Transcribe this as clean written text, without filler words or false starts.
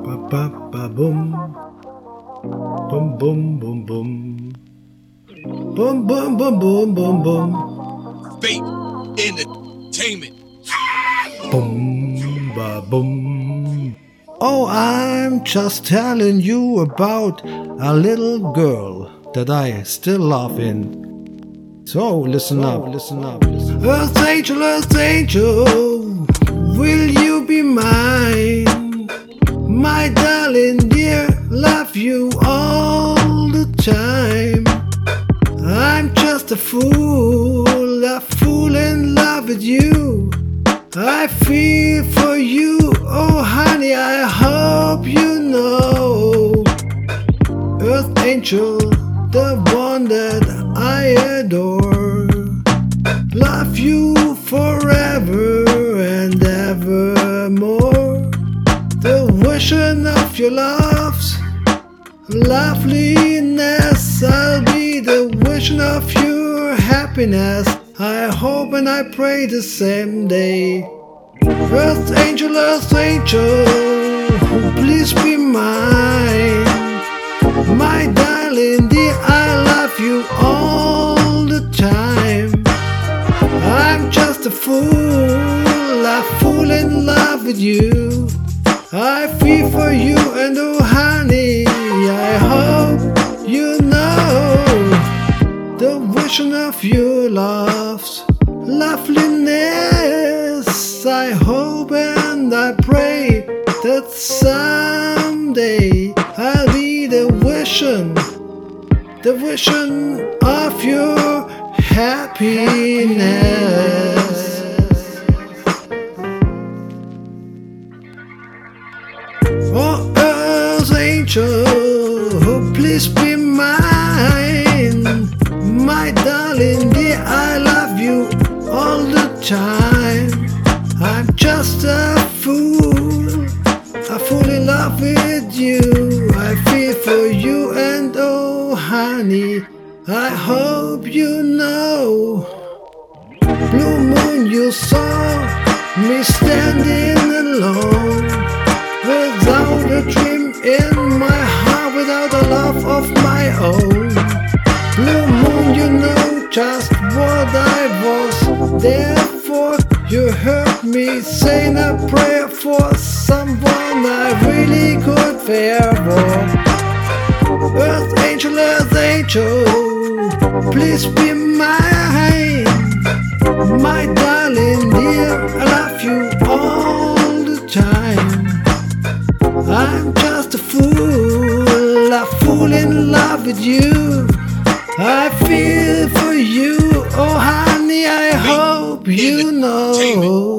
Ba ba ba bum. Bum bum bum bum. Bum bum bum bum bum bum. Fate Entertainment. Bum ba bum. Oh, I'm just telling you about a little girl that I still love in. So listen up, listen up, listen up. Earth angel, will you be mine? My darling dear, love you all the time. I'm just a fool in love with you. I feel for you, oh honey, I hope you know. Earth angel, the one that I adore. Love you forever and evermore. The vision of your love's loveliness, I'll be the vision of your happiness. I hope and I pray the same day. Earth angel, please be mine. My darling dear, I love you all the time. I'm just a fool in love with you. I feel for you and oh honey, I hope you know the vision of your love's loveliness. I hope and I pray that someday I'll be the vision of your happiness. Oh, Earth angel, please be mine. My darling dear, I love you all the time. I'm just a fool in love with you. I feel for you and oh honey, I hope you know. Blue moon, you saw me standing alone, without a dream in my heart, without a love of my own. Blue moon, you know just what I was there for. You heard me saying a prayer for someone I really could care for. Earth angel, please be mine. My darling dear, I love you all the time. I'm just a fool in love with you. I feel for you, oh honey, I hope you know.